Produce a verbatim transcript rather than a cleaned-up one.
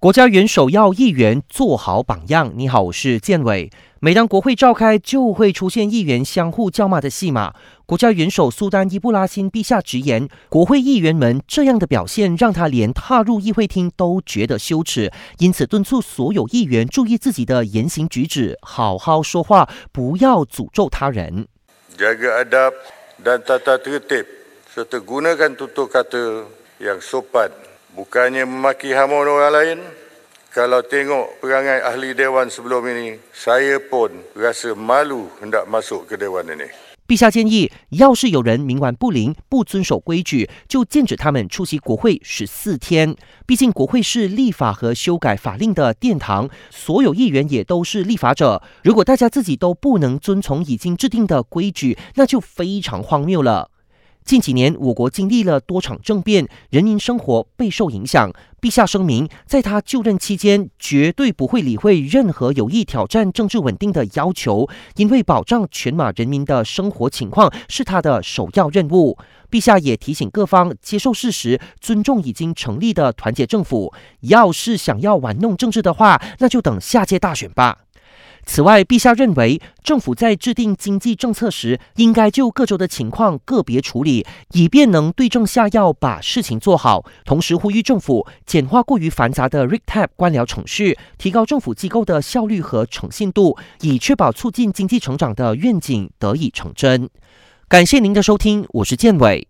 国家元首要议员做好榜样。你好，我是建伟。每当国会召开，就会出现议员相互叫骂的戏码。国家元首苏丹伊布拉辛陛下直言，国会议员们这样的表现让他连踏入议会厅都觉得羞耻，因此敦促所有议员注意自己的言行举止，好好说话，不要诅咒他人。 Jaga adab dan tata tertib serta gunakan tutur kata yang sopan, bukannya memaki hamun orang lain. Kalau tengok perangai ahli dewan sebelum ini, saya pun rasa malu hendak masuk ke dewan ini。 陛下建议，要是有人冥顽不灵、不遵守规矩，就禁止他们出席国会十四天。毕竟国会是立法和修改法令的殿堂，所有议员也都是立法者。如果大家自己都不能遵从已经制定的规矩，那就非常荒谬了。近几年，我国经历了多场政变，人民生活备受影响。陛下声明，在他就任期间，绝对不会理会任何有意挑战政治稳定的要求，因为保障全马人民的生活情况是他的首要任务。陛下也提醒各方接受事实，尊重已经成立的团结政府。要是想要玩弄政治的话，那就等下届大选吧。此外，陛下认为政府在制定经济政策时，应该就各州的情况个别处理，以便能对症下药，把事情做好。同时呼吁政府简化过于繁杂的 R I C T A P 官僚程序，提高政府机构的效率和诚信度，以确保促进经济成长的愿景得以成真。感谢您的收听，我是建伟。